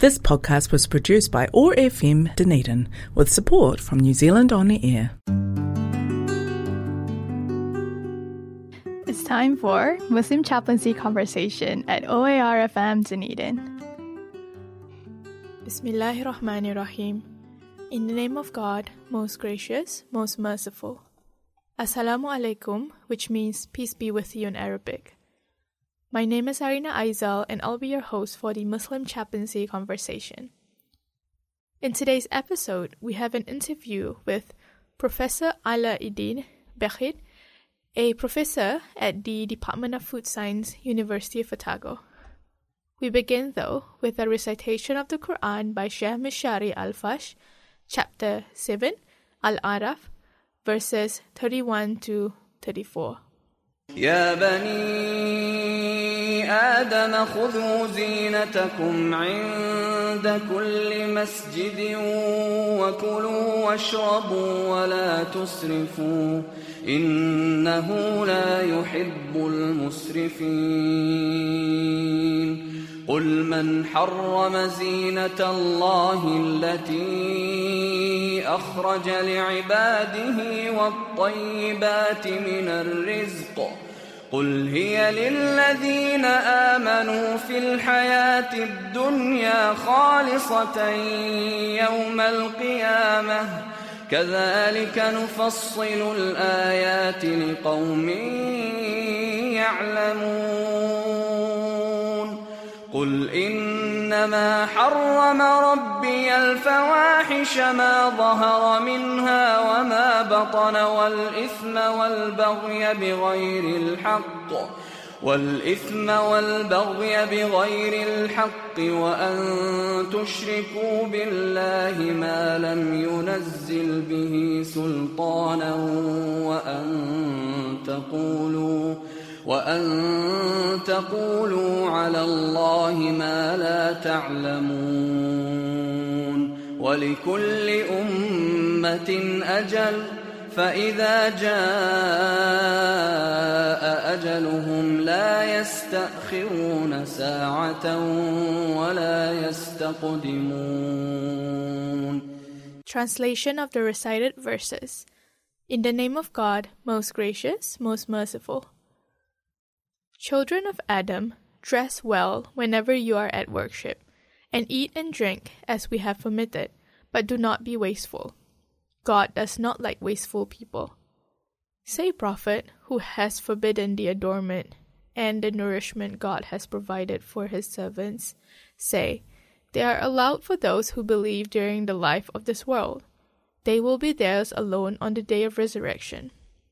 This podcast was produced by OAR FM Dunedin with support from New Zealand On Air. It's time for Muslim Chaplaincy Conversation at OAR FM Dunedin. Bismillahirrahmanirrahim. In the name of God, most gracious, most merciful. Assalamu alaikum, which means peace be with you in Arabic. My name is Arina Aizal, and I'll be your host for the Muslim Chaplaincy Conversation. In today's episode, we have an interview with Professor Alauddin Bechit, a professor at the Department of Food Science, University of Otago. We begin, though, with a recitation of the Quran by Sheikh Mishari Al-Fash, Chapter 7, Al-Araf, verses 31 to 34. يا بني آدم خذوا زينتكم عند كل مسجد وكلوا واشربوا ولا تسرفوا إنه لا يحب المسرفين قل من حرم زينة الله التي أخرج لعباده والطيبات من الرزق قل هي للذين آمنوا في الحياة الدنيا خالصة يوم القيامة كذلك نفصل الآيات لقوم يعلمون قل إنما حرم ربي الفواحش ما ظهر منها وما بطن والإثم والبغي بغير الحق وأن تشركوا بالله ما لم ينزل به سلطانا وأن تقولوا على الله ما لا تعلمون ولكل أمة أجل فإذا جاء أجلهم لا يستأخرون ساعة ولا يستقدمون. Translation of the recited verses. In the name of God, most gracious, most merciful. Children of Adam, dress well whenever you are at worship, and eat and drink as we have permitted, but do not be wasteful. God does not like wasteful people. Say, Prophet, who has forbidden the adornment and the nourishment God has provided for his servants, say, they are allowed for those who believe during the life of this world. They will be theirs alone on the day of resurrection.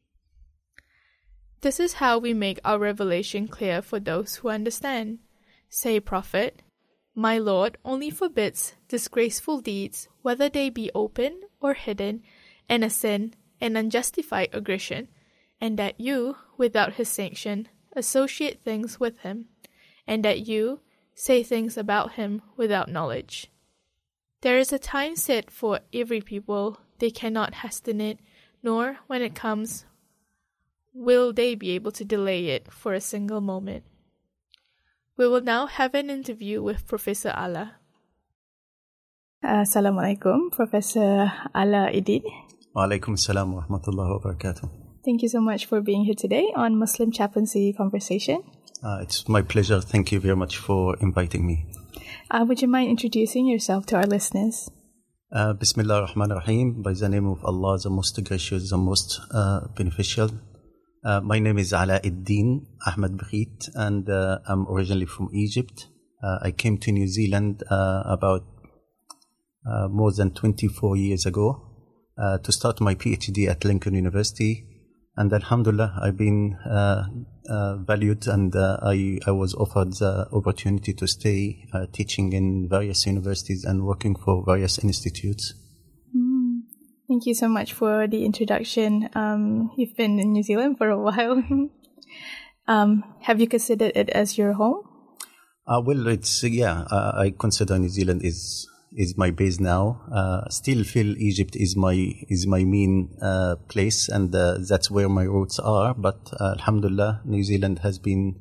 This is how we make our revelation clear for those who understand. Say, Prophet, my Lord only forbids disgraceful deeds, whether they be open or hidden, and a sin and unjustified aggression, and that you, without his sanction, associate things with him, and that you say things about him without knowledge. There is a time set for every people, they cannot hasten it, nor, when it comes, will they be able to delay it for a single moment. We will now have an interview with Professor Ala. Assalamualaikum, Professor Alauddin. Walaikum assalam wa rahmatullahi wa barakatuh. Thank you so much for being here today on Muslim Chaplaincy Conversation. It's my pleasure. Thank you very much for inviting me. Would you mind introducing yourself to our listeners? Bismillah ar-Rahman ar-Rahim. By the name of Allah, the most gracious, the most beneficial. My name is Alauddin Ahmed Bechit, and I'm originally from Egypt. I came to New Zealand about more than 24 years ago to start my PhD at Lincoln University. And alhamdulillah, I've been valued, and I was offered the opportunity to stay teaching in various universities and working for various institutes. Thank you so much for the introduction. You've been in New Zealand for a while. Have you considered it as your home? Well, I consider New Zealand is my base now. Still feel Egypt is my main place, and that's where my roots are. But alhamdulillah, New Zealand has been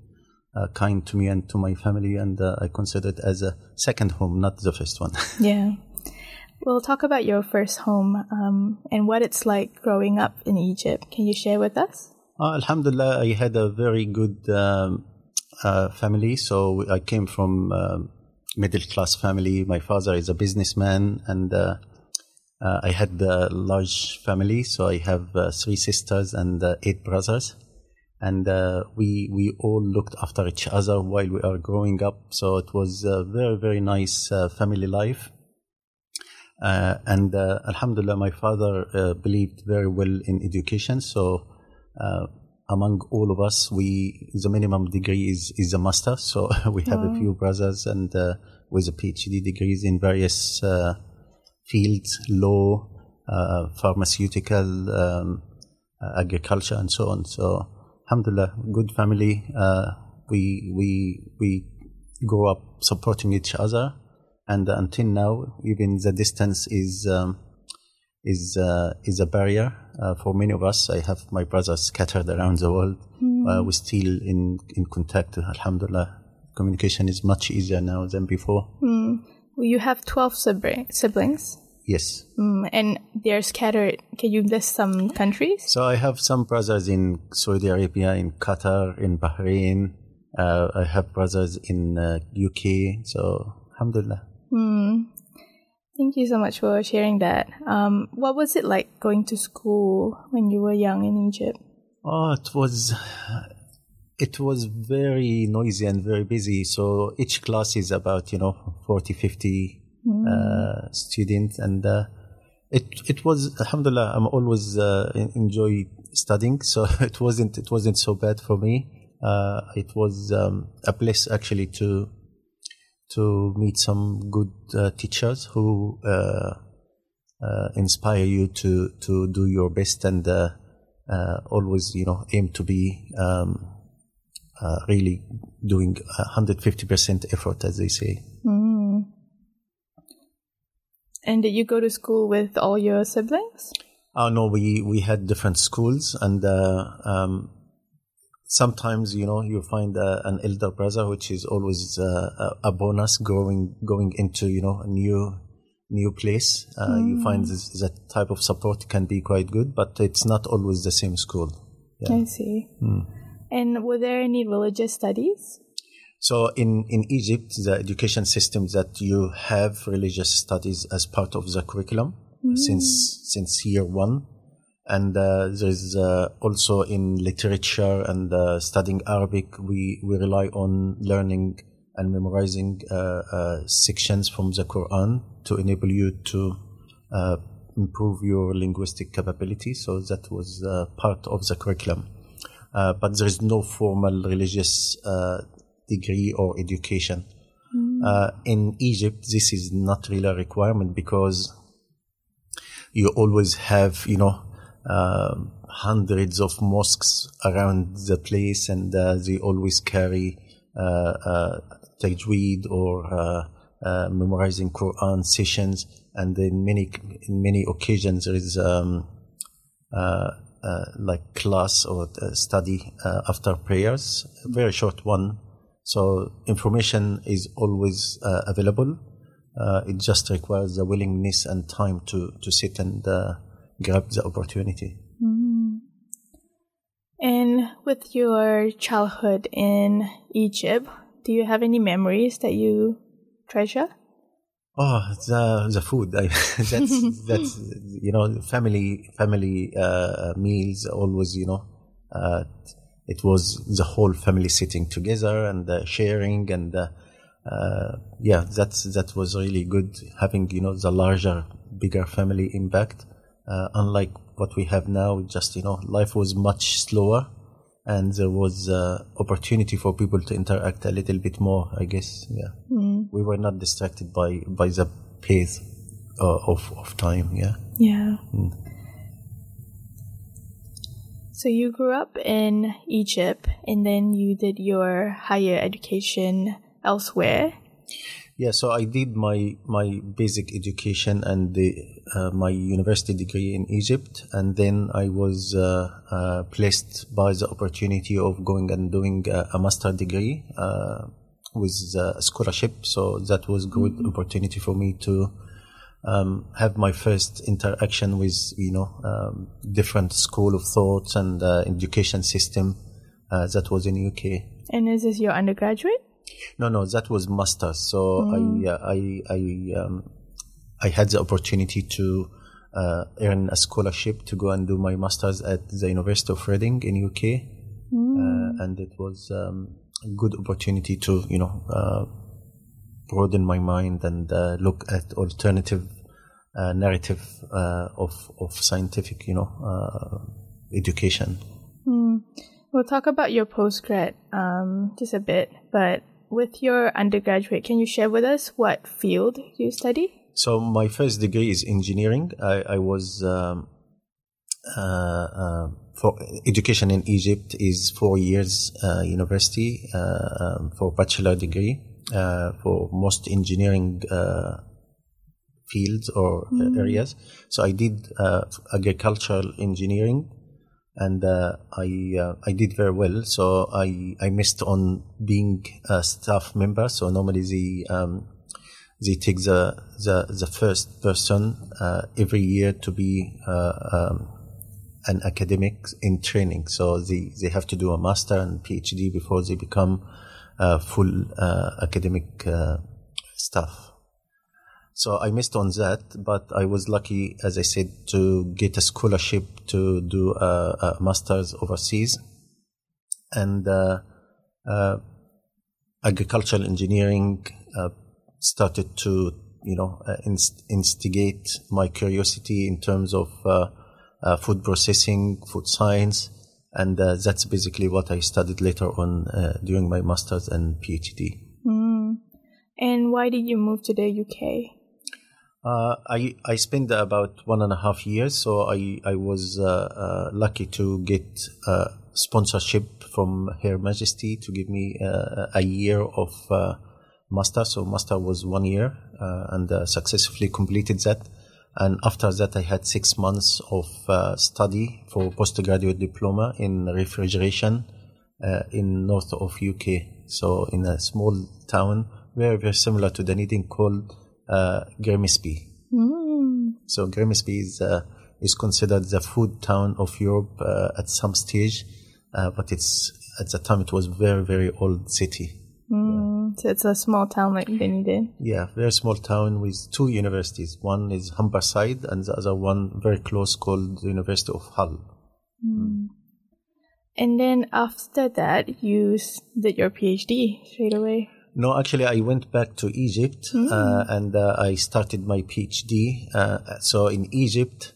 kind to me and to my family, and I consider it as a second home, not the first one. Yeah. We'll talk about your first home and what it's like growing up in Egypt. Can you share with us? Alhamdulillah, I had a very good family. So I came from middle-class family. My father is a businessman, and I had a large family. So I have 3 sisters and 8 brothers. And we all looked after each other while we are growing up. So it was a very, very nice family life. And Alhamdulillah, my father believed very well in education. So among all of us, the minimum degree is a master. So we have a few brothers and with a PhD degrees in various fields, law, pharmaceutical, agriculture, and so on. So Alhamdulillah, good family. We grew up supporting each other, and until now, even the distance is a barrier for many of us. I have my brothers scattered around the world. We're still in contact. Alhamdulillah, communication is much easier now than before. Well, you have 12 siblings. Yes. And they're scattered. Can you list some countries? So I have some brothers in Saudi Arabia, in Qatar, in Bahrain. I have brothers in UK. So Alhamdulillah. Thank you so much for sharing that. What was it like going to school when you were young in Egypt? Oh, it was very noisy and very busy. So each class is about 40, 50 students, and it was, Alhamdulillah, I'm always enjoy studying, so it wasn't so bad for me. It was a bliss actually to meet some good teachers who inspire you to do your best and always aim to be really doing 150% effort, as they say. And did you go to school with all your siblings? No, we had different schools, and sometimes you find an elder brother, which is always a bonus going into a new place. You find that type of support can be quite good, but it's not always the same school. Yeah. I see. And were there any religious studies? So in Egypt, the education system that you have religious studies as part of the curriculum since year 1. And there's also in literature and studying Arabic, we rely on learning and memorizing sections from the Quran to enable you to improve your linguistic capability. So that was part of the curriculum. But there is no formal religious degree or education. In Egypt, this is not really a requirement because you always have, hundreds of mosques around the place, and they always carry tajweed or memorizing Quran sessions. And in many occasions, there is like class or study after prayers, a very short one. So information is always available. It just requires the willingness and time to sit and grab the opportunity. And with your childhood in Egypt, do you have any memories that you treasure? Oh, the food. That's family meals always. It was the whole family sitting together and sharing, and that was really good, having the larger, bigger family impact. Unlike what we have now, just life was much slower, and there was opportunity for people to interact a little bit more, I guess. Yeah, we were not distracted by the pace of time. Yeah. Yeah. So you grew up in Egypt, and then you did your higher education elsewhere. Yeah, so I did my basic education and my university degree in Egypt, and then I was placed by the opportunity of going and doing a master degree with a scholarship. So that was good opportunity for me to have my first interaction with different school of thoughts and education system that was in UK. And is this your undergraduate? No, that was master's. So I had the opportunity to earn a scholarship to go and do my master's at the University of Reading in UK, and it was a good opportunity to broaden my mind and look at alternative narrative of scientific education. We'll talk about your postgrad just a bit, but with your undergraduate, can you share with us what field you study? So my first degree is engineering. I was for education in Egypt is 4 years university for bachelor degree for most engineering fields or areas. So I did agricultural engineering. And I did very well. So I missed on being a staff member. So normally they take the first person every year to be an academic in training. So they have to do a master and PhD before they become full academic staff. So I missed on that, but I was lucky, as I said, to get a scholarship to do a master's overseas. And agricultural engineering started to, instigate my curiosity in terms of food processing, food science. And that's basically what I studied later on during my master's and PhD. And why did you move to the UK? I spent about 1.5 years, so I was lucky to get sponsorship from Her Majesty to give me a year of master. So master was 1 year, and successfully completed that. And after that, I had 6 months of study for postgraduate diploma in refrigeration in north of UK. So in a small town, very, very similar to Dunedin, called Grimsby. So Grimsby is considered the food town of Europe at some stage, but at the time it was very, very old city. So it's a small town like Dunedin. Yeah, very small town with 2 universities. One is Humberside and the other one very close called the University of Hull. And then after that, you did your PhD straight away. No, actually, I went back to Egypt and I started my PhD. So in Egypt,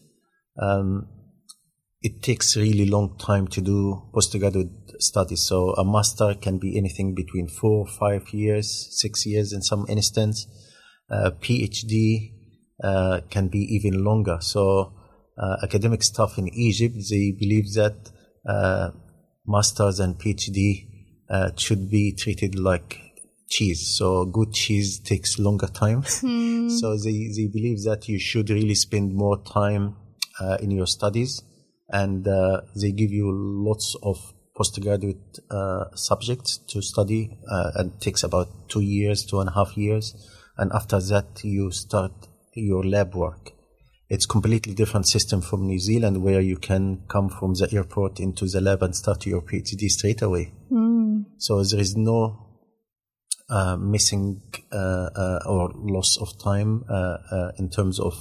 it takes really long time to do postgraduate studies. So a master can be anything between 4, 5 years, 6 years in some instance. PhD can be even longer. So academic staff in Egypt, they believe that masters and PhD should be treated like cheese. So good cheese takes longer time. So they believe that you should really spend more time in your studies, and they give you lots of postgraduate subjects to study, and it takes about 2 years, 2.5 years, and after that you start your lab work. It's completely different system from New Zealand, where you can come from the airport into the lab and start your PhD straight away. So there is no missing or loss of time in terms of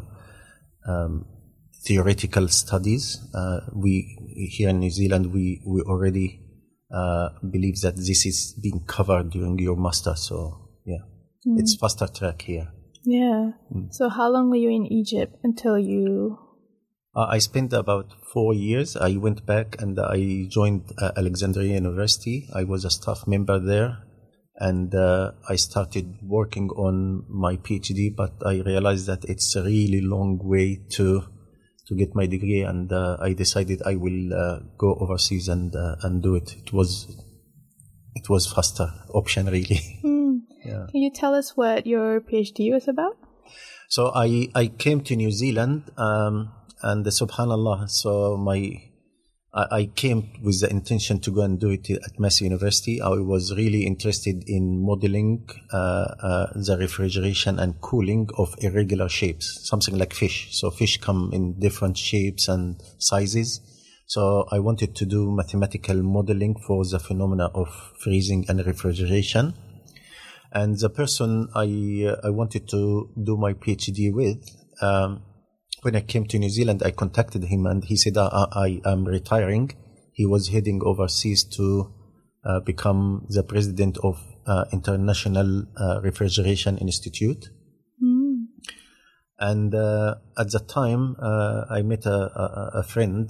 theoretical studies. We here in New Zealand, we already believe that this is being covered during your master. So yeah, it's faster track here. Yeah. So how long were you in Egypt until you... I spent about 4 years. I went back and I joined Alexandria University. I was a staff member there. And I started working on my PhD, but I realized that it's a really long way to get my degree, and I decided I will go overseas and do it. It was faster option, really. Yeah. Can you tell us what your PhD was about? So I came to New Zealand, and subhanallah, so I came with the intention to go and do it at Massey University. I was really interested in modeling the refrigeration and cooling of irregular shapes, something like fish. So fish come in different shapes and sizes. So I wanted to do mathematical modeling for the phenomena of freezing and refrigeration. And the person I wanted to do my PhD with, when I came to New Zealand, I contacted him and he said, I am retiring. He was heading overseas to become the president of International Refrigeration Institute. Mm. And at the time, I met a friend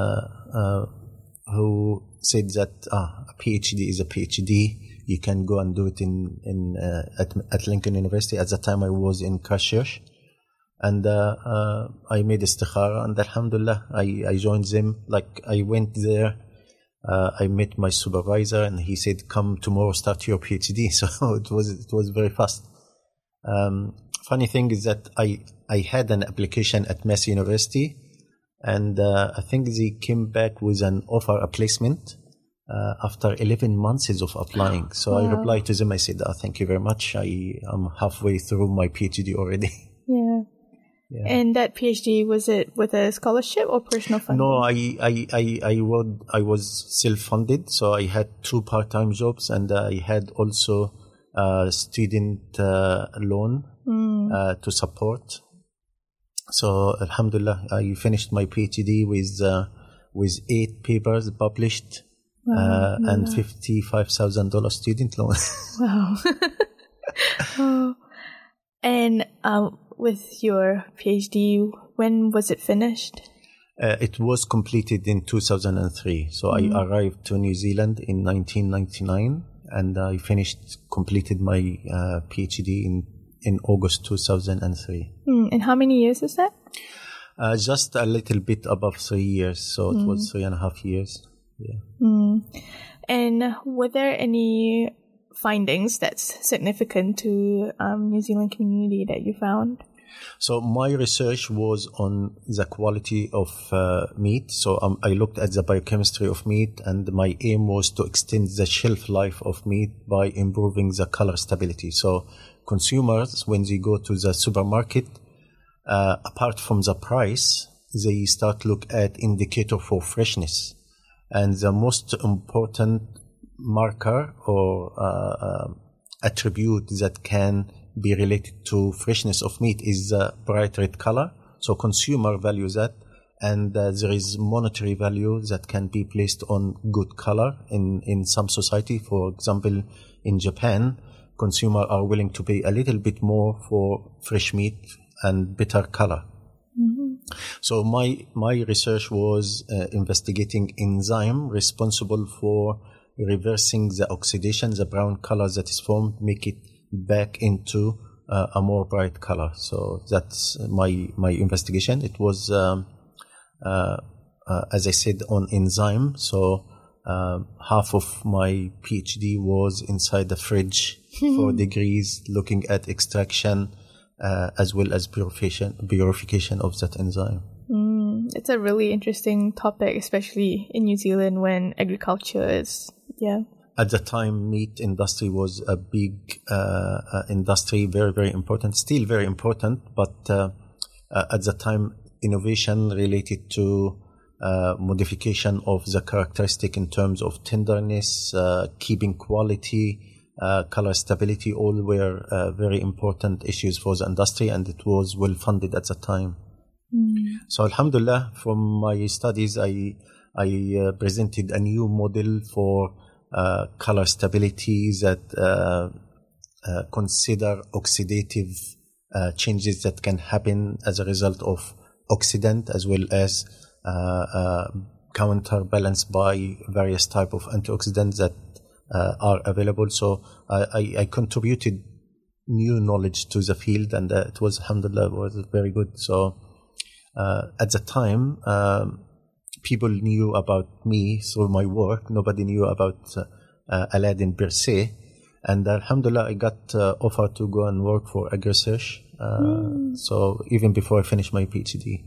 who said that a PhD is a PhD. You can go and do it at Lincoln University. At the time, I was in Christchurch. And I made istikhara, and alhamdulillah, I joined them. Like, I went there, I met my supervisor, and he said, come tomorrow, start your PhD. So it was very fast. Funny thing is that I had an application at Massey University, and I think they came back with an offer, a placement, after 11 months of applying. So Wow. I replied to them, I said, thank you very much. I'm halfway through my PhD already. Yeah. Yeah. And that PhD, was it with a scholarship or personal funding? No, I was self-funded, so I had 2 part-time jobs, and I had also a student loan to support. So alhamdulillah, I finished my PhD with 8 papers published. Wow. And $55,000 student loan. Wow. Oh. And with your PhD, when was it finished? It was completed in 2003. So I arrived to New Zealand in 1999, and I completed my PhD in August 2003. And how many years is that? Just a little bit above 3 years. So it was 3.5 years. Yeah. And were there any findings that's significant to New Zealand community that you found? So my research was on the quality of meat. So I looked at the biochemistry of meat, and my aim was to extend the shelf life of meat by improving the color stability. So consumers, when they go to the supermarket, apart from the price, they start to look at indicator for freshness. And the most important marker or attribute that can be related to freshness of meat is the bright red color. So consumer values that, and there is monetary value that can be placed on good color in some society. For example, in Japan, consumers are willing to pay a little bit more for fresh meat and better color. So my research was investigating enzyme responsible for reversing the oxidation, the brown color that is formed, make it back into a more bright color. So that's my investigation. It was, as I said, on enzyme. So half of my PhD was inside the fridge, 4 degrees, looking at extraction, as well as purification of that enzyme. It's a really interesting topic, especially in New Zealand when agriculture is, At the time, meat industry was a big industry, very, very important, still very important. But at the time, innovation related to modification of the characteristic in terms of tenderness, keeping quality, color stability, all were very important issues for the industry, and it was well funded at the time. So alhamdulillah, from my studies, I presented a new model for color stability that consider oxidative changes that can happen as a result of oxidant, as well as counterbalanced by various type of antioxidants that are available. So I contributed new knowledge to the field, and it was, alhamdulillah, was very good. So at the time, people knew about me through my work. Nobody knew about Aladdin per se. And Alhamdulillah, I got offer to go and work for AgriSearch. So even before I finished my PhD.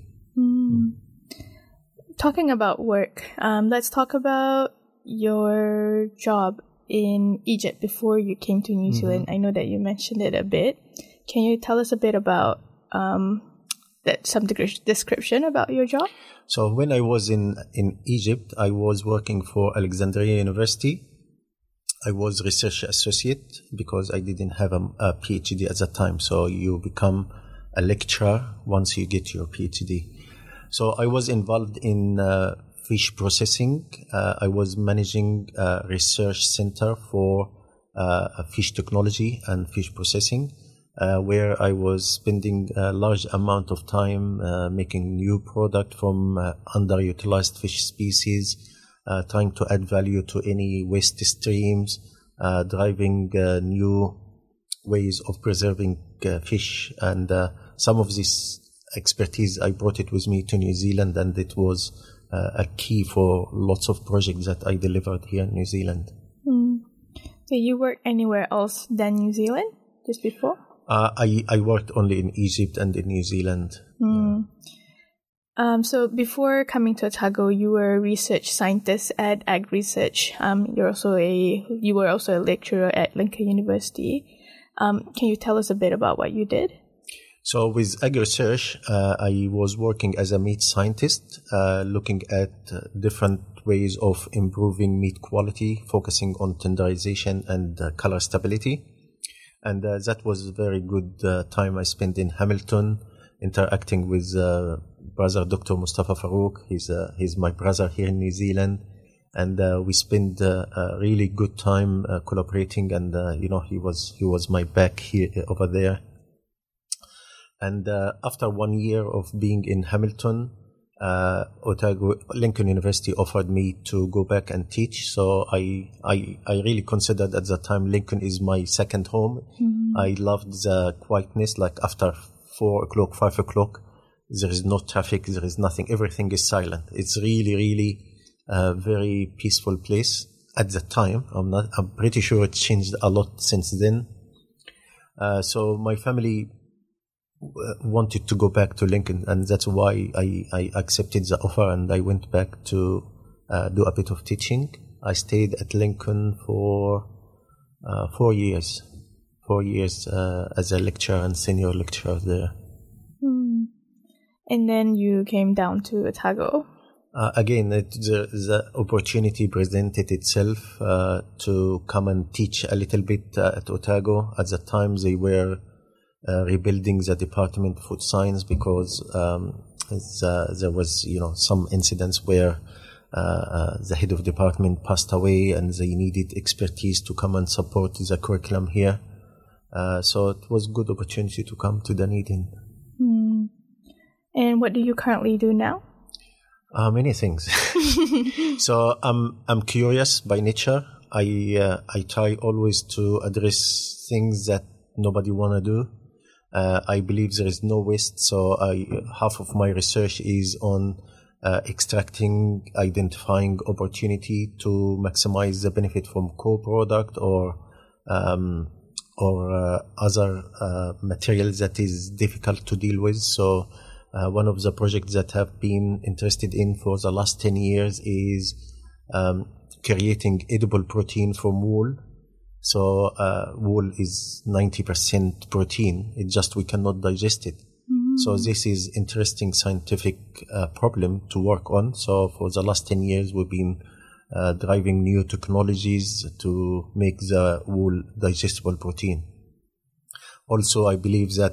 Talking about work, let's talk about your job in Egypt before you came to New Zealand. I know that you mentioned it a bit. Can you tell us a bit about some description about your job? So when I was in Egypt, I was working for Alexandria University. I was research associate because I didn't have a PhD at that time. So you become a lecturer once you get your PhD. So I was involved in fish processing. I was managing a research center for fish technology and fish processing, where I was spending a large amount of time making new product from underutilized fish species, trying to add value to any waste streams, driving new ways of preserving fish. And some of this expertise, I brought it with me to New Zealand, and it was a key for lots of projects that I delivered here in New Zealand. So you worked anywhere else than New Zealand just before? I worked only in Egypt and in New Zealand. So before coming to Otago, you were a research scientist at AgriSearch. You were also a lecturer at Lincoln University. Can you tell us a bit about what you did? So with AgriSearch, I was working as a meat scientist, looking at different ways of improving meat quality, focusing on tenderization and color stability. And that was a very good time I spent in Hamilton, interacting with brother Dr. Mustafa Farouk. He's my brother here in New Zealand. And we spent a really good time collaborating. And, he was my back here over there. And after 1 year of being in Hamilton, Lincoln University offered me to go back and teach. So I really considered at that time Lincoln is my second home. I loved the quietness, like after 4 o'clock, 5 o'clock, there is no traffic, there is nothing, everything is silent. It's really, really a very peaceful place at the time. I'm pretty sure it changed a lot since then. So my family wanted to go back to Lincoln, and that's why I accepted the offer and I went back to do a bit of teaching. I stayed at Lincoln for 4 years. 4 years as a lecturer and senior lecturer there. And then you came down to Otago. Again, the opportunity presented itself to come and teach a little bit at Otago. At the time, they were rebuilding the Department of Food Science because there was, some incidents where the head of department passed away and they needed expertise to come and support the curriculum here. So it was a good opportunity to come to Dunedin. And what do you currently do now? Many things. So I'm curious by nature. I try always to address things that nobody want to do. I believe there is no waste, so half of my research is on extracting, identifying opportunity to maximize the benefit from co-product or other materials that is difficult to deal with. So one of the projects that I've been interested in for the last 10 years is creating edible protein from wool. So wool is 90% protein. It's just we cannot digest it. So this is interesting scientific problem to work on. So for the last 10 years, we've been driving new technologies to make the wool digestible protein. Also, I believe that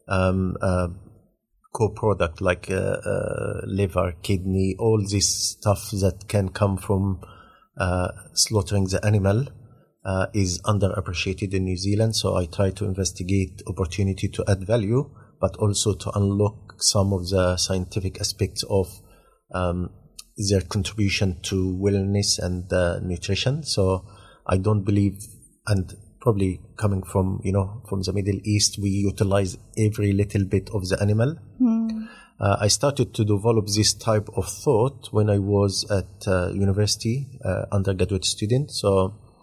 co-product like liver, kidney, all this stuff that can come from slaughtering the animal is underappreciated in New Zealand. So I try to investigate opportunity to add value, but also to unlock some of the scientific aspects of their contribution to wellness and nutrition. So I don't believe, and probably coming from, from the Middle East, we utilize every little bit of the animal. I started to develop this type of thought when I was at university, undergraduate student. So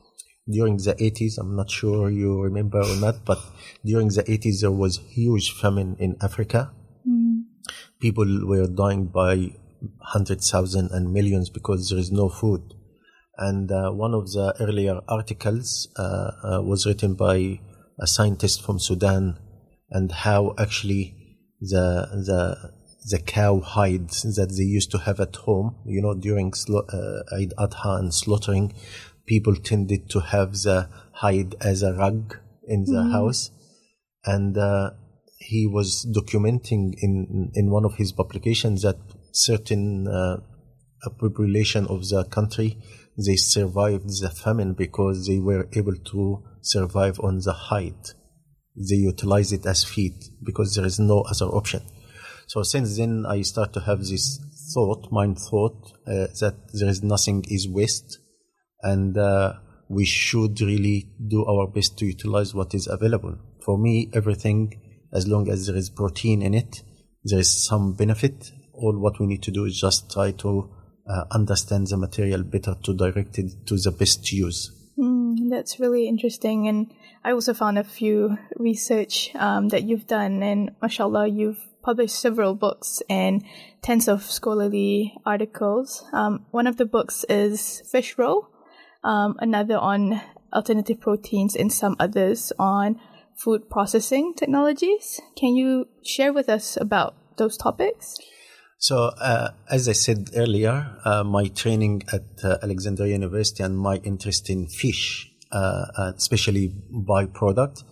during the 80s, I'm not sure you remember or not, but during the 80s there was huge famine in Africa. People were dying by 100,000 and millions because there is no food. And one of the earlier articles was written by a scientist from Sudan, and how actually the cow hides that they used to have at home, during Eid Adha and slaughtering, people tended to have the hide as a rug in the house. And he was documenting in one of his publications that certain population of the country, they survived the famine because they were able to survive on the hide. They utilize it as feed because there is no other option. So since then, I start to have this mind thought, that there is nothing is waste, and we should really do our best to utilize what is available. For me, everything, as long as there is protein in it, there is some benefit. All what we need to do is just try to understand the material better to direct it to the best use. That's really interesting. And I also found a few research that you've done, and mashallah, you've published several books and tens of scholarly articles. One of the books is Fish Roll, another on alternative proteins, and some others on food processing technologies. Can you share with us about those topics? So, as I said earlier, my training at Alexandria University and my interest in fish, especially byproduct,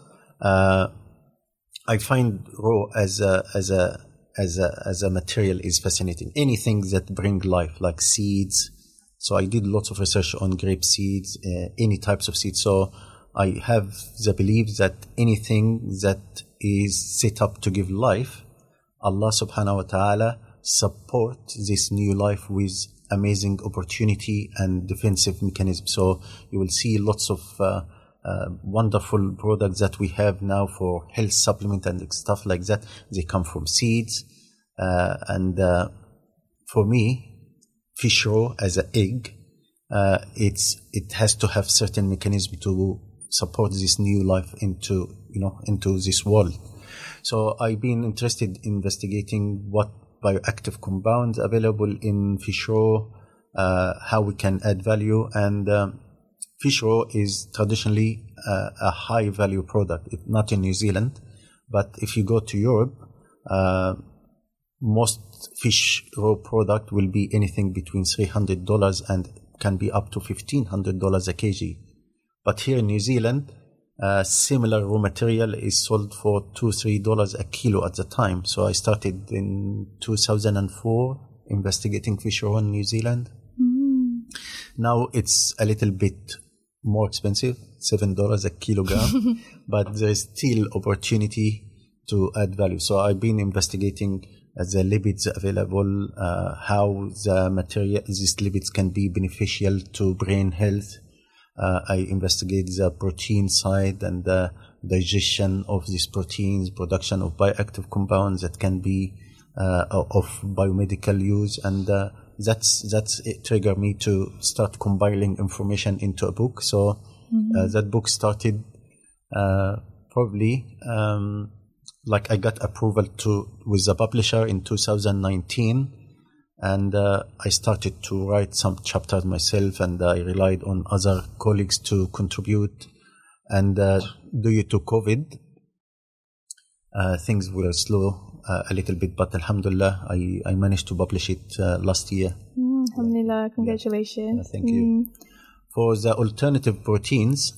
I find raw as a material is fascinating. Anything that bring life, like seeds. So I did lots of research on grape seeds, any types of seeds. So I have the belief that anything that is set up to give life, Allah subhanahu wa ta'ala support this new life with amazing opportunity and defensive mechanism. So you will see lots of wonderful products that we have now for health supplement and stuff like that. They come from seeds. And for me, fish roe as an egg, it has to have certain mechanism to support this new life into this world. So I've been interested in investigating what bioactive compounds available in fish roe, how we can add value, and fish roe is traditionally a high value product, not in New Zealand, but if you go to Europe, most fish roe product will be anything between $300 and can be up to $1,500 a kg. But here in New Zealand, similar raw material is sold for $2-3 a kilo at the time. So I started in 2004 investigating fish roe in New Zealand. Now it's a little bit more expensive, $7 a kilogram, but there is still opportunity to add value. So I've been investigating the lipids available, how the material, these lipids can be beneficial to brain health. I investigate the protein side and the digestion of these proteins, production of bioactive compounds that can be of biomedical use, and that's it triggered me to start compiling information into a book. So that book started probably like I got approval with the publisher in 2019. And I started to write some chapters myself, and I relied on other colleagues to contribute. And due to COVID, things were slow a little bit, but alhamdulillah, I managed to publish it last year. Alhamdulillah, congratulations. Yeah, thank you. For the alternative proteins,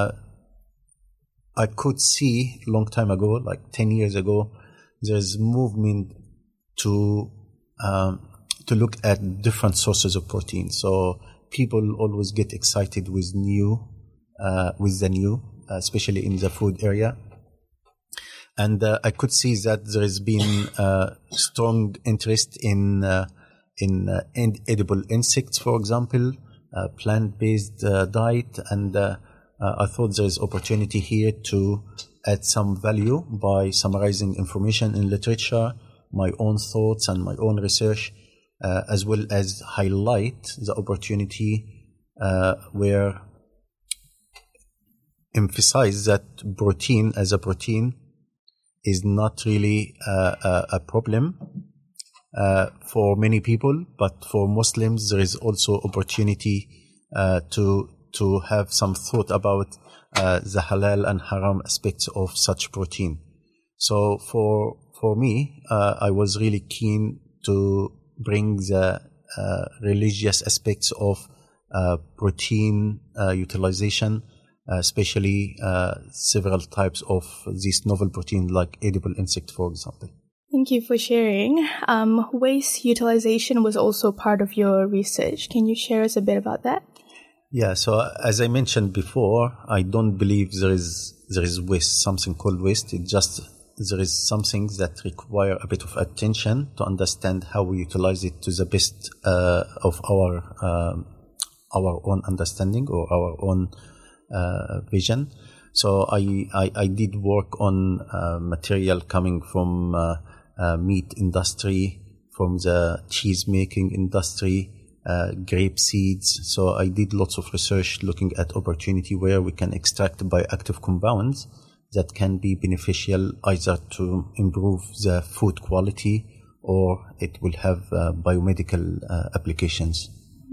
I could see a long time ago, like 10 years ago, there's movement to look at different sources of protein. So people always get excited with the new, especially in the food area. And I could see that there has been strong interest in edible insects, for example, plant-based diet. And I thought there is opportunity here to add some value by summarizing information in literature, my own thoughts and my own research, as well as highlight the opportunity where emphasize that protein as a protein is not really a problem for many people, but for Muslims there is also opportunity to have some thought about the halal and haram aspects of such protein. So for me, I was really keen to bring the religious aspects of protein utilization, especially several types of these novel proteins like edible insect, for example. Thank you for sharing. Waste utilization was also part of your research. Can you share us a bit about that? Yeah, so as I mentioned before, I don't believe there is waste, something called waste. It just there is some things that require a bit of attention to understand how we utilize it to the best of our own understanding or our own vision. So I did work on material coming from meat industry, from the cheese making industry, grape seeds. So I did lots of research looking at opportunity where we can extract bioactive compounds that can be beneficial either to improve the food quality or it will have biomedical applications.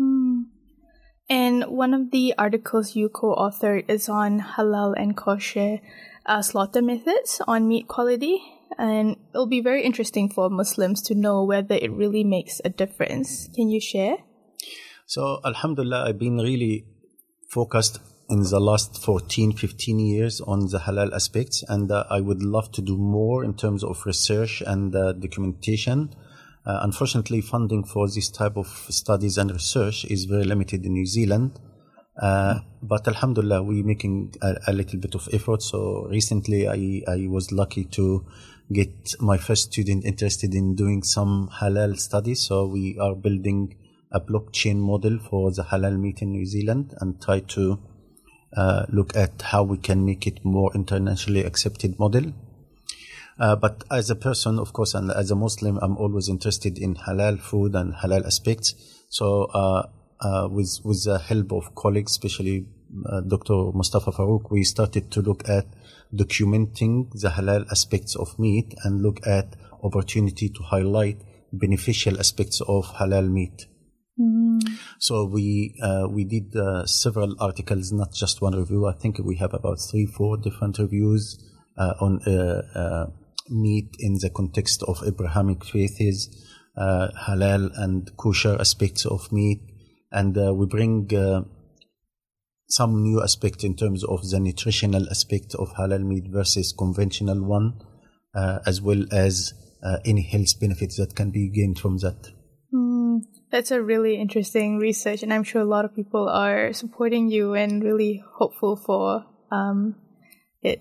And one of the articles you co-authored is on halal and kosher slaughter methods on meat quality. And it'll be very interesting for Muslims to know whether it really makes a difference. Can you share? So, alhamdulillah, I've been really focused in the last 14, 15 years on the halal aspects, and I would love to do more in terms of research and documentation. Unfortunately, funding for this type of studies and research is very limited in New Zealand. But alhamdulillah, we're making a little bit of effort. So recently I was lucky to get my first student interested in doing some halal studies. So we are building a blockchain model for the halal meat in New Zealand and try to look at how we can make it more internationally accepted model. But as a person, of course, and as a Muslim, I'm always interested in halal food and halal aspects. So with the help of colleagues, especially Dr. Mustafa Farouk, we started to look at documenting the halal aspects of meat and look at opportunity to highlight beneficial aspects of halal meat. So we did several articles, not just one review. I think we have about 3-4 different reviews on meat in the context of Abrahamic faiths, halal and kosher aspects of meat, and we bring some new aspect in terms of the nutritional aspect of halal meat versus conventional one, as well as any health benefits that can be gained from that. That's a really interesting research, and I'm sure a lot of people are supporting you and really hopeful for it.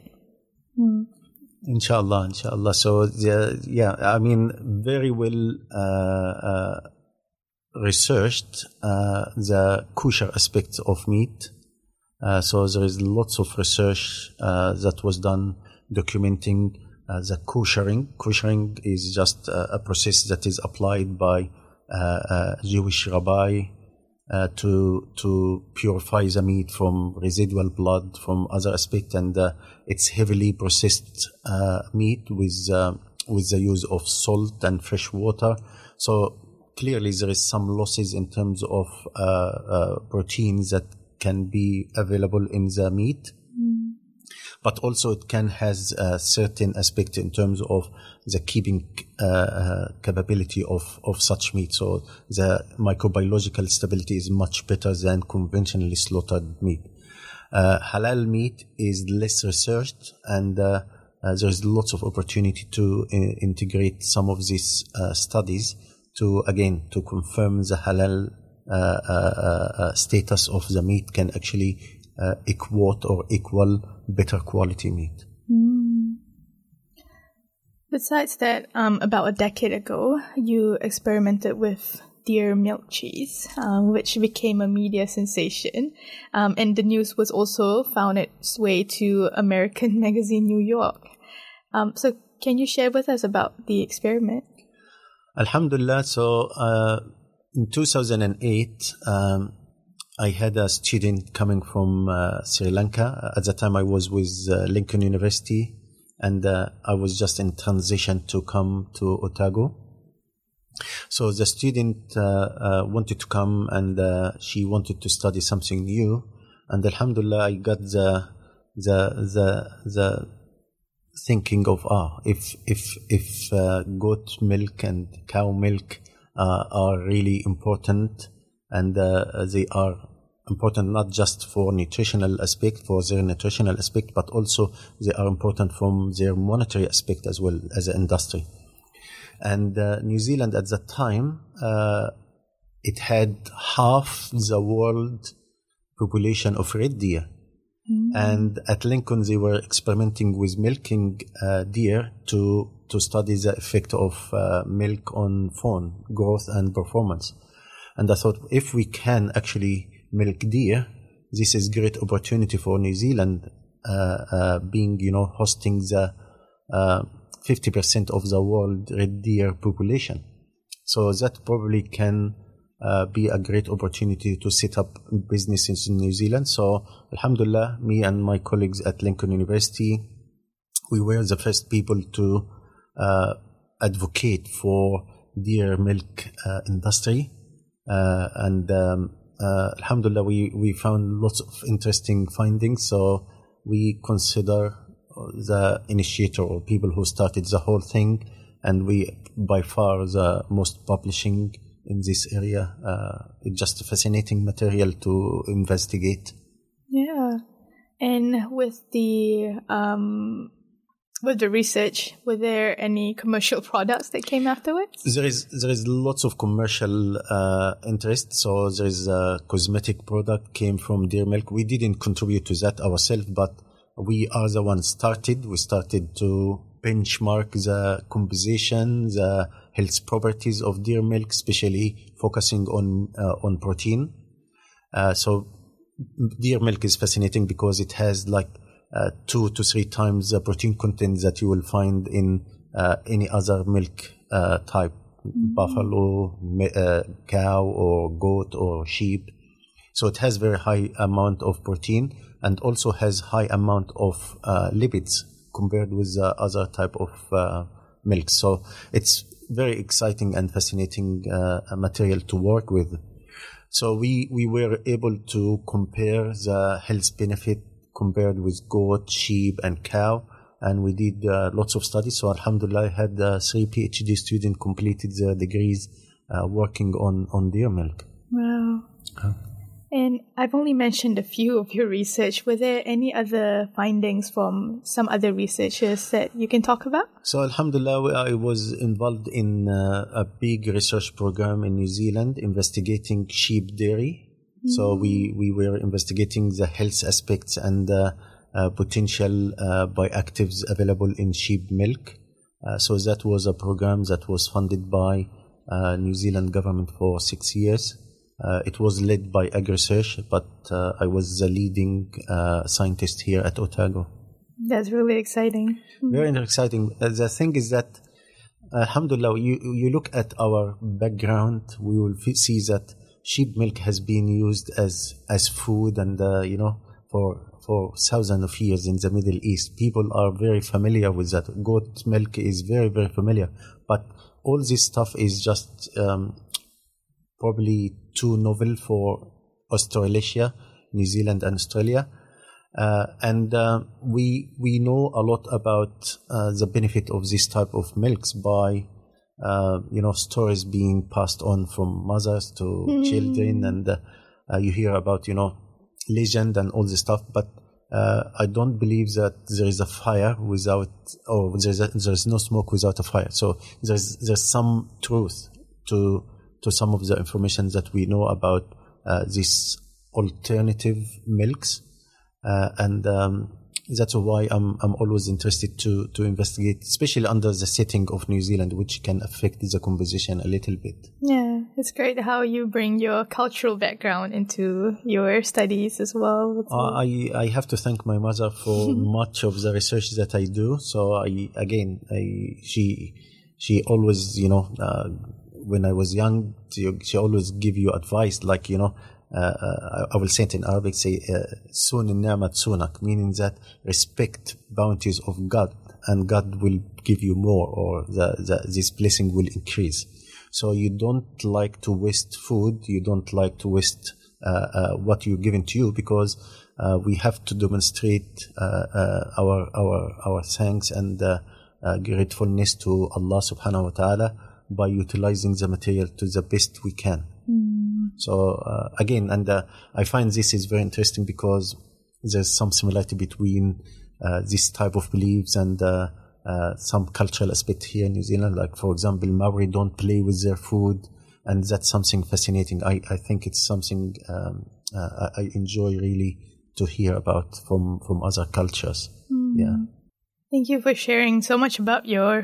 Inshallah. So I mean, very well researched the kosher aspects of meat. So there is lots of research that was done documenting the koshering. Koshering is just a process that is applied by Jewish rabbi to purify the meat from residual blood, from other aspects, and it's heavily processed meat with the use of salt and fresh water. So clearly there is some losses in terms of proteins that can be available in the meat. But also it can has a certain aspect in terms of the keeping capability of such meat. So the microbiological stability is much better than conventionally slaughtered meat. Halal meat is less researched, and there is lots of opportunity to integrate some of these studies to confirm the halal status of the meat can actually equal better quality meat. Besides that, about a decade ago, you experimented with deer milk cheese, which became a media sensation. And the news was also found its way to American magazine New York. So can you share with us about the experiment? Alhamdulillah. So in 2008, I had a student coming from Sri Lanka. At the time, I was with Lincoln University, and I was just in transition to come to Otago. So the student wanted to come, and she wanted to study something new. And Alhamdulillah, I got the thinking of if goat milk and cow milk are really important, and they are important not just for nutritional aspect, for their nutritional aspect, but also they are important from their monetary aspect as well as an industry. And New Zealand at that time, it had half the world population of red deer. And at Lincoln, they were experimenting with milking deer to study the effect of milk on fawn growth and performance. And I thought, if we can actually milk deer, this is great opportunity for New Zealand, being, hosting the 50% of the world red deer population. So that probably can be a great opportunity to set up businesses in New Zealand. So Alhamdulillah, me and my colleagues at Lincoln University, we were the first people to advocate for deer milk industry. Alhamdulillah, we found lots of interesting findings. So we consider the initiator or people who started the whole thing, and we by far the most publishing in this area. It's just a fascinating material to investigate. Yeah. And with the research, were there any commercial products that came afterwards? There is lots of commercial interest. So there is a cosmetic product came from deer milk. We didn't contribute to that ourselves, but we are the ones started. We started to benchmark the composition, the health properties of deer milk, especially focusing on protein. So deer milk is fascinating because it has 2 to 3 times the protein content that you will find in any other milk type, buffalo, cow or goat or sheep. So it has very high amount of protein and also has high amount of lipids compared with the other type of milk. So it's very exciting and fascinating material to work with. So we were able to compare the health benefit compared with goat, sheep, and cow, and we did lots of studies. So Alhamdulillah, I had 3 PhD students completed their degrees working on deer milk. Wow. And I've only mentioned a few of your research. Were there any other findings from some other researchers that you can talk about? So Alhamdulillah, I was involved in a big research program in New Zealand investigating sheep dairy. So we were investigating the health aspects and potential bioactives available in sheep milk. So that was a program that was funded by New Zealand government for 6 years. It was led by AgResearch, but I was the leading scientist here at Otago. That's really exciting. Very exciting. The thing is that, alhamdulillah, you look at our background, we will see that sheep milk has been used as food and, for thousands of years in the Middle East. People are very familiar with that. Goat milk is very, very familiar. But all this stuff is just probably too novel for Australasia, New Zealand and Australia. We know a lot about the benefit of this type of milks by stories being passed on from mothers to children, and you hear about legend and all this stuff. But I don't believe that there is a fire without, or there is no smoke without a fire. So there's some truth to some of the information that we know about these alternative milks, and that's why I'm always interested to investigate, especially under the setting of New Zealand, which can affect the composition a little bit. Yeah, it's great how you bring your cultural background into your studies as well. I have to thank my mother for much of the research that I do. So she always, when I was young, she always give you advice, I will say it in Arabic, say, "Sun ni'mat sunak," meaning that respect bounties of God, and God will give you more, or this blessing will increase. So you don't like to waste food, you don't like to waste what you're given to you, because we have to demonstrate our thanks and gratefulness to Allah subhanahu wa ta'ala by utilizing the material to the best we can. So again, and I find this is very interesting, because there's some similarity between this type of beliefs and some cultural aspect here in New Zealand. Like, for example, Maori don't play with their food, and that's something fascinating. I think it's something I enjoy really to hear about from other cultures. Yeah. Thank you for sharing so much about your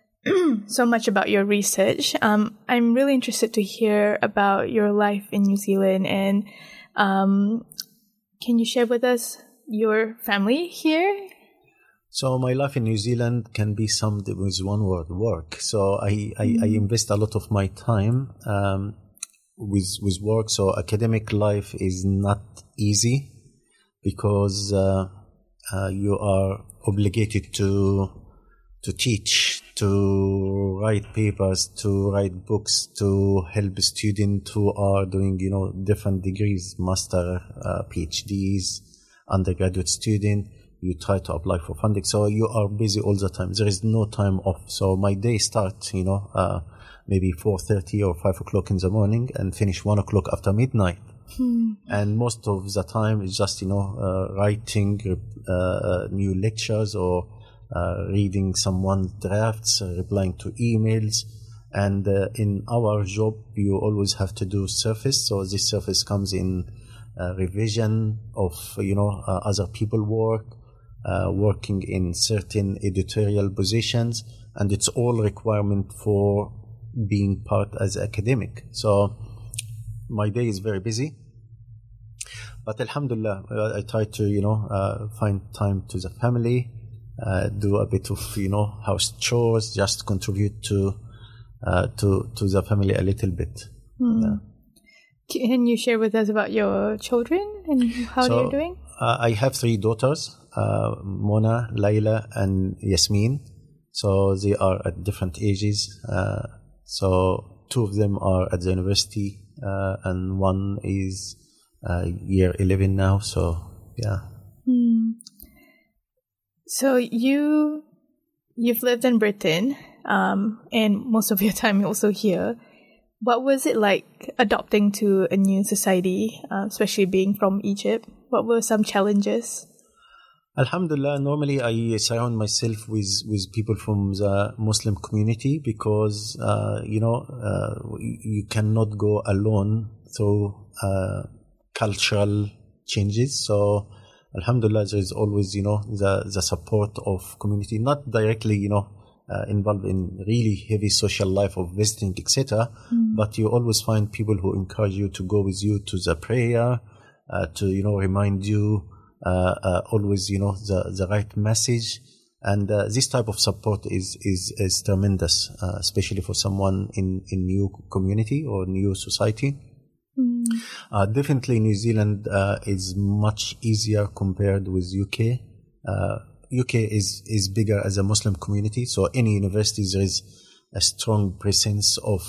research. I'm really interested to hear about your life in New Zealand, and can you share with us your family here? So my life in New Zealand can be summed with one word: work. So I invest a lot of my time with work. So academic life is not easy, because you are obligated to teach, to write papers, to write books, to help students who are doing, different degrees, master, PhDs, undergraduate student. You try to apply for funding. So you are busy all the time. There is no time off. So my day starts, maybe 4:30 or 5 o'clock in the morning, and finish 1 o'clock after midnight. And most of the time is just, writing new lectures, or reading someone's drafts, replying to emails. And in our job, you always have to do surface. So this surface comes in revision of, other people work, working in certain editorial positions, and it's all requirement for being part as academic. So my day is very busy, but alhamdulillah, I try to, find time to the family, do a bit of, house chores, just contribute to the family a little bit. Yeah. Can you share with us about your children and how they're doing? I have 3 daughters, Mona, Layla, and Yasmin. So they are at different ages. So 2 of them are at the university, and 1 is year 11 now. So yeah. So you've lived in Britain, and most of your time also here. What was it like adopting to a new society, especially being from Egypt? What were some challenges? Alhamdulillah, normally I surround myself with people from the Muslim community, because, you cannot go alone through cultural changes. So alhamdulillah, there is always, the support of community, not directly, involved in really heavy social life of visiting, etc. But you always find people who encourage you to go with you to the prayer, to, remind you always, the right message. And this type of support is tremendous, especially for someone in new community or new society. Definitely New Zealand is much easier compared with UK. UK is bigger as a Muslim community, so any university there is a strong presence of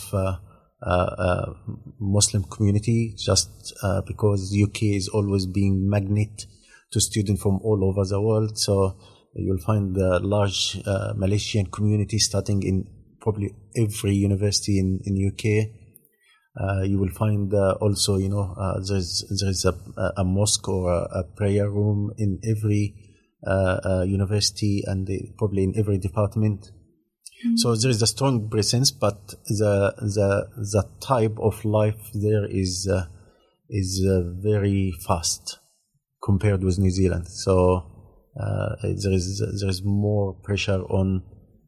Muslim community, just because UK is always being magnet to students from all over the world. So you'll find the large Malaysian community starting in probably every university in UK. You will find also, there's a mosque or a prayer room in every university, and probably in every department. So there is a strong presence, but the type of life there is very fast compared with New Zealand. So there is more pressure on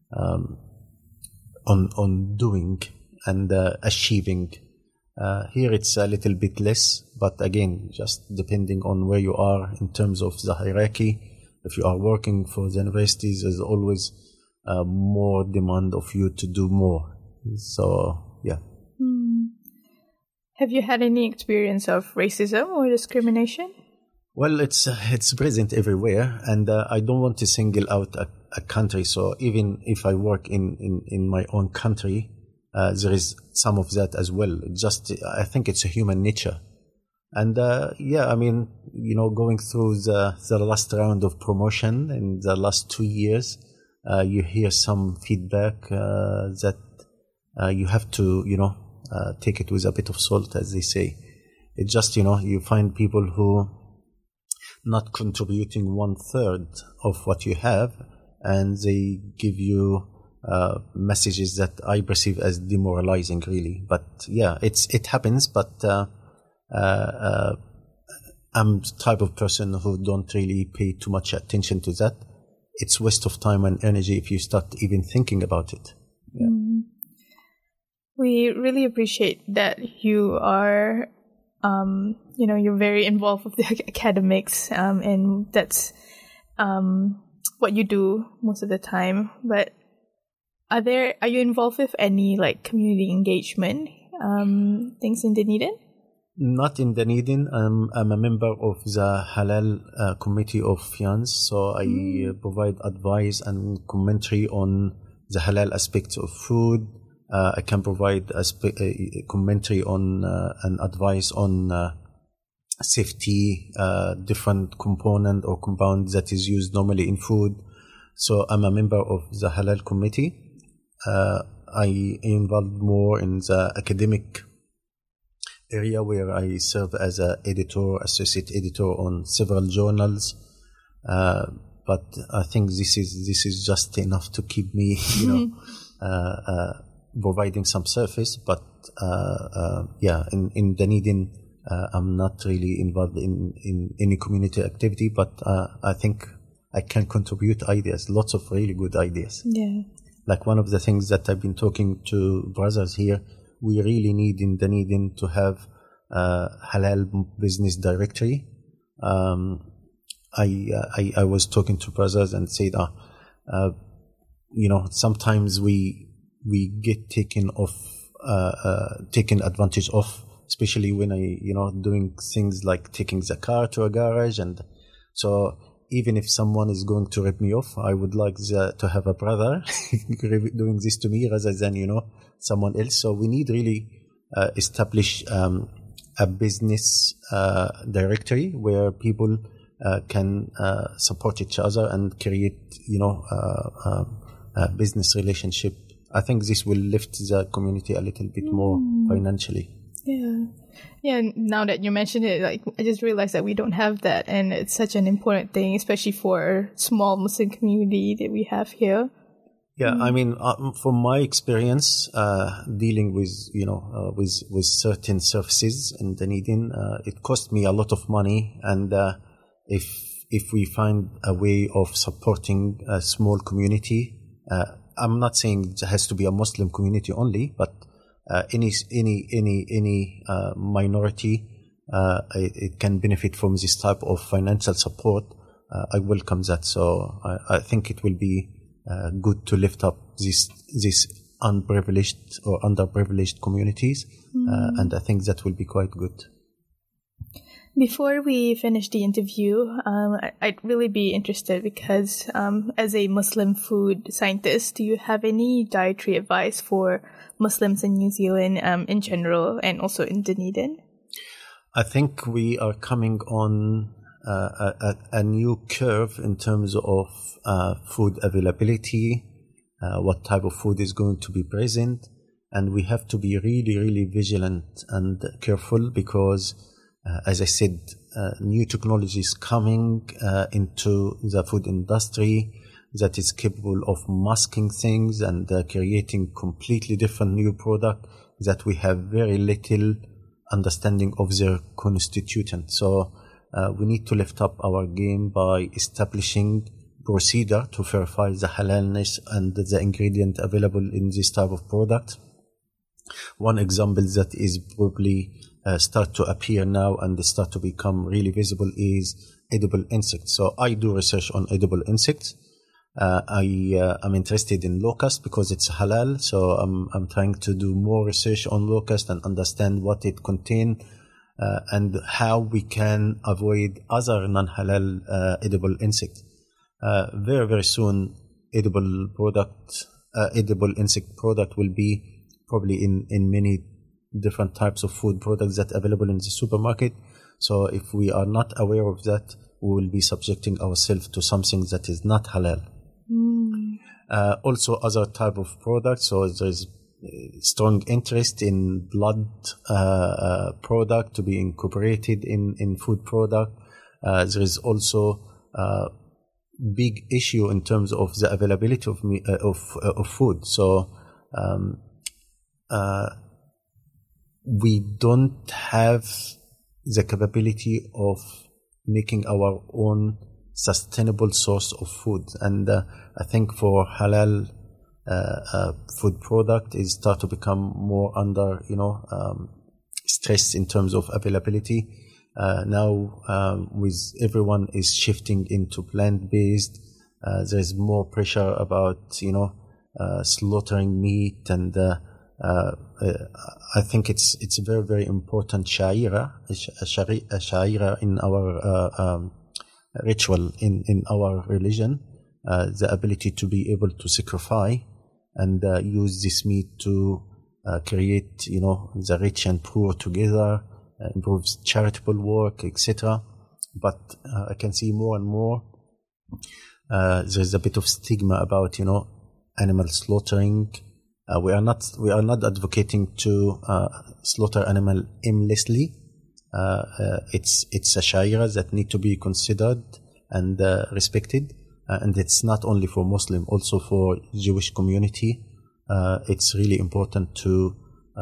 doing and achieving. Here it's a little bit less, but again, just depending on where you are in terms of the hierarchy. If you are working for the universities, there's always more demand of you to do more. So, yeah. Have you had any experience of racism or discrimination? Well, it's present everywhere, and I don't want to single out a country. So even if I work in my own country, there is some of that as well. I think it's a human nature. And I mean, going through the last round of promotion in the last 2 years, you hear some feedback that you have to, take it with a bit of salt, as they say. It just, you find people who not contributing 1/3 of what you have, and they give you messages that I perceive as demoralizing, really. But yeah, it happens. But I'm the type of person who don't really pay too much attention to that. It's waste of time and energy if you start even thinking about it. Yeah. We really appreciate that you are, you're very involved with the academics, and that's what you do most of the time. But are you involved with any community engagement things in Dunedin? Not in Dunedin. I'm a member of the Halal Committee of FIANZ, so I provide advice and commentary on the halal aspects of food. I can provide a commentary on and advice on safety, different component or compound that is used normally in food. So I'm a member of the Halal Committee. I am involved more in the academic area, where I serve as an associate editor on several journals. But I think this is just enough to keep me, providing some service. But in Dunedin, I'm not really involved in any community activity. But I think I can contribute ideas, lots of really good ideas. Yeah. Like one of the things that I've been talking to brothers here, we really need in Dunedin to have halal business directory. I was talking to brothers and said, sometimes we get taken advantage of, especially when doing things like taking the car to a garage. And so even if someone is going to rip me off, I would like to have a brother doing this to me rather than, someone else. So we need really establish a business directory where people can support each other and create, a business relationship. I think this will lift the community a little bit more financially. Yeah. Yeah, now that you mention it, I just realized that we don't have that, and it's such an important thing, especially for a small Muslim community that we have here. Yeah, I mean, from my experience dealing with, with certain services in Dunedin, it cost me a lot of money, and if we find a way of supporting a small community, I'm not saying it has to be a Muslim community only, but any minority, it can benefit from this type of financial support. I welcome that. So I think it will be good to lift up these unprivileged or underprivileged communities, and I think that will be quite good. Before we finish the interview, I'd really be interested because as a Muslim food scientist, do you have any dietary advice for Muslims in New Zealand in general and also in Dunedin? I think we are coming on a new curve in terms of food availability, what type of food is going to be present, and we have to be really, really vigilant and careful because as I said, new technology is coming into the food industry that is capable of masking things and creating completely different new product that we have very little understanding of their constituent. So we need to lift up our game by establishing procedure to verify the halalness and the ingredient available in this type of product. One example that is probably start to appear now and start to become really visible is edible insects. So I do research on edible insects, I'm interested in locust because it's halal, so I'm trying to do more research on locust and understand what it contains and how we can avoid other non-halal edible insects. Very, very soon, edible insect product will be probably in many different types of food products that are available in the supermarket. So if we are not aware of that, we will be subjecting ourselves to something that is not halal. Also other type of products. So there's strong interest in blood product to be incorporated in food product. There is also big issue in terms of the availability of food. So we don't have the capability of making our own sustainable source of food, and I think for halal food product is start to become more under stress in terms of availability. Now with everyone is shifting into plant-based, there's more pressure about slaughtering meat, and I think it's a very, very important sha'ira in our ritual in our religion, the ability to be able to sacrifice and use this meat to create the rich and poor together, improves charitable work, etc. But I can see more and more there's a bit of stigma about animal slaughtering. We are not advocating to slaughter animal aimlessly. It's a sha'ira that need to be considered and respected, and it's not only for Muslim, also for Jewish community. It's really important to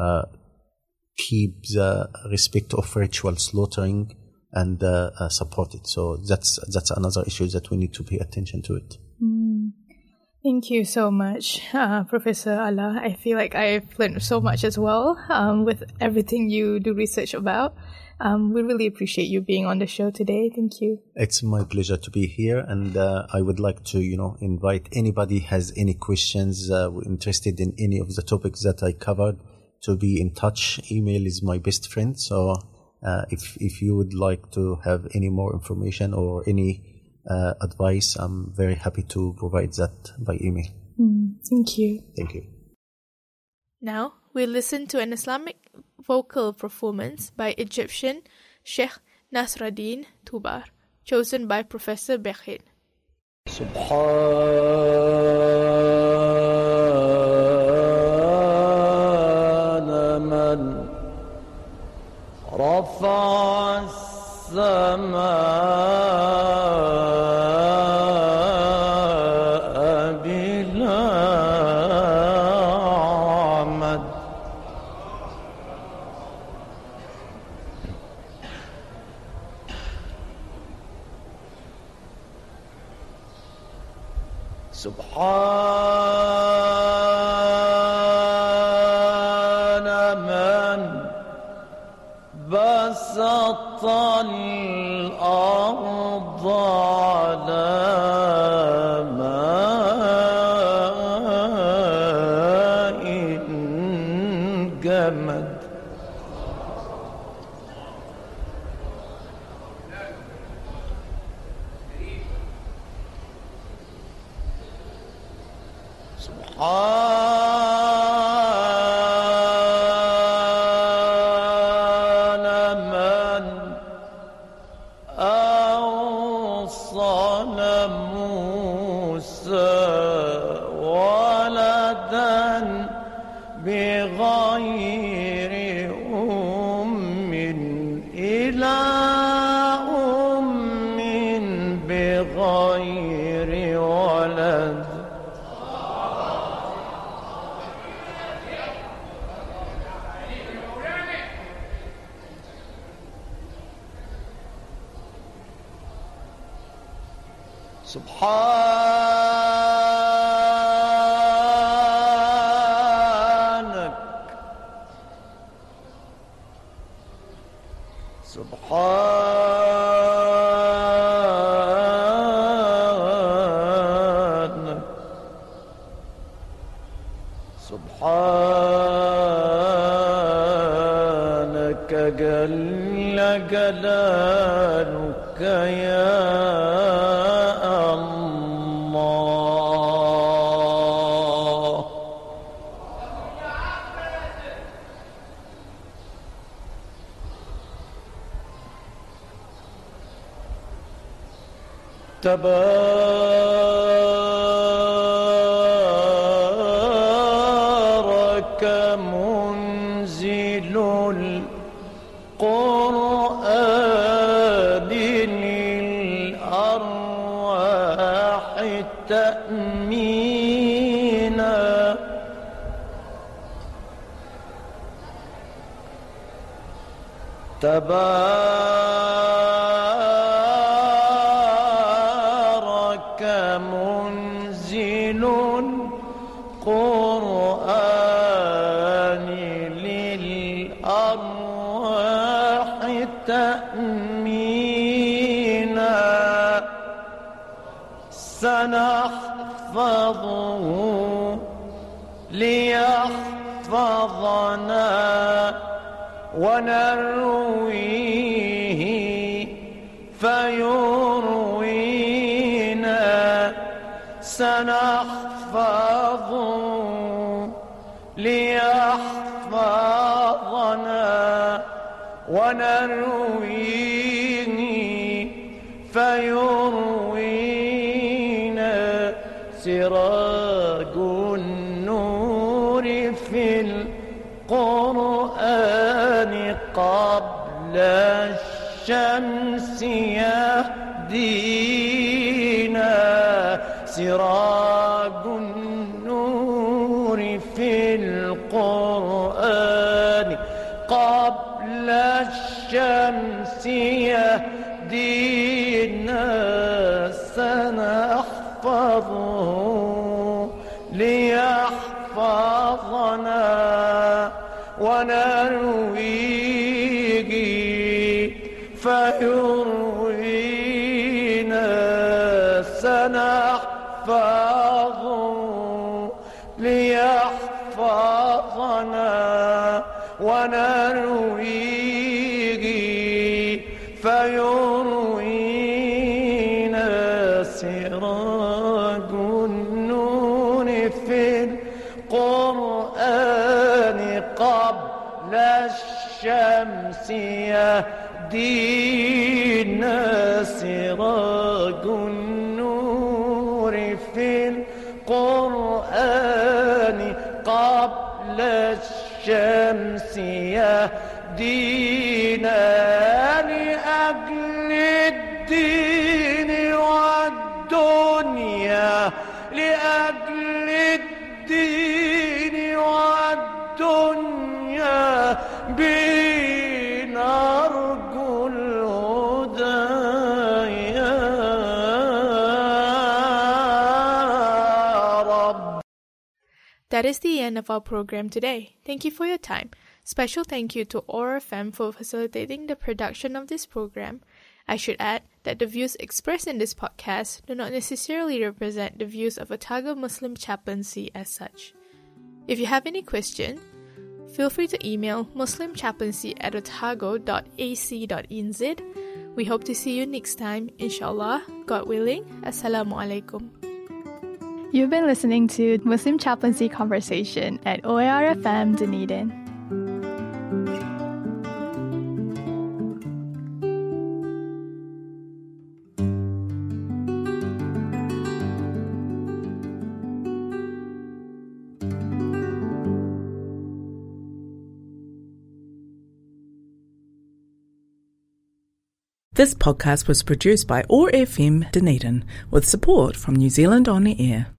keep the respect of ritual slaughtering and support it. So that's another issue that we need to pay attention to it. Thank you so much, Professor Ala. I feel like I've learned so much as well with everything you do research about. We really appreciate you being on the show today. Thank you. It's my pleasure to be here, and I would like to, invite anybody has any questions, interested in any of the topics that I covered, to be in touch. Email is my best friend. So if you would like to have any more information or any advice, I'm very happy to provide that by email. Thank you. Thank you. Now we'll listen to an Islamic vocal performance by Egyptian Sheikh Nasruddin Tubar, chosen by Professor Bekhin. Subhana man rafa'a as-samaa سبحان من بسط الأرض على ماء جمد سبحان من أوصل موسى ولدا بغير أم إلى أم بغير ولد سبحانك سبحانك سبحانك جل جلالك يا الله. تبارك منزل القرآن للأرواح تأمينا. تبارك منزل القرآن للأرواح تأمينا. سنحفظه ليحفظنا ونرويه فيروينا. سنحفظه ليحفظنا ونرويه فيروينا. سراج النور في القرآن قبل الشمس يهدينا. سراج النور في القرآن قبل الشمس يهدينا. سنحفظه ليحفظنا ونرويه فيروينا. سنحفظه ليحفظنا ونرويه فيروينا. سراج النور في القرآن قبل الشمس يهدينا. سراج النور في القرآن قبل الشمس يهدينا. لأجل الدين والدنيا لأجل الدين والدنيا بنرجو الهدى يا رب. That is the end of our program today. Thank you for your time. Special thank you to Aura FM for facilitating the production of this program. I should add that the views expressed in this podcast do not necessarily represent the views of Otago Muslim Chaplaincy as such. If you have any question, feel free to email muslimchaplaincy@otago.ac.nz. We hope to see you next time, inshallah, God willing. Assalamu alaikum. You've been listening to Muslim Chaplaincy Conversation at OAR FM Dunedin. This podcast was produced by OAR FM Dunedin with support from New Zealand On the Air.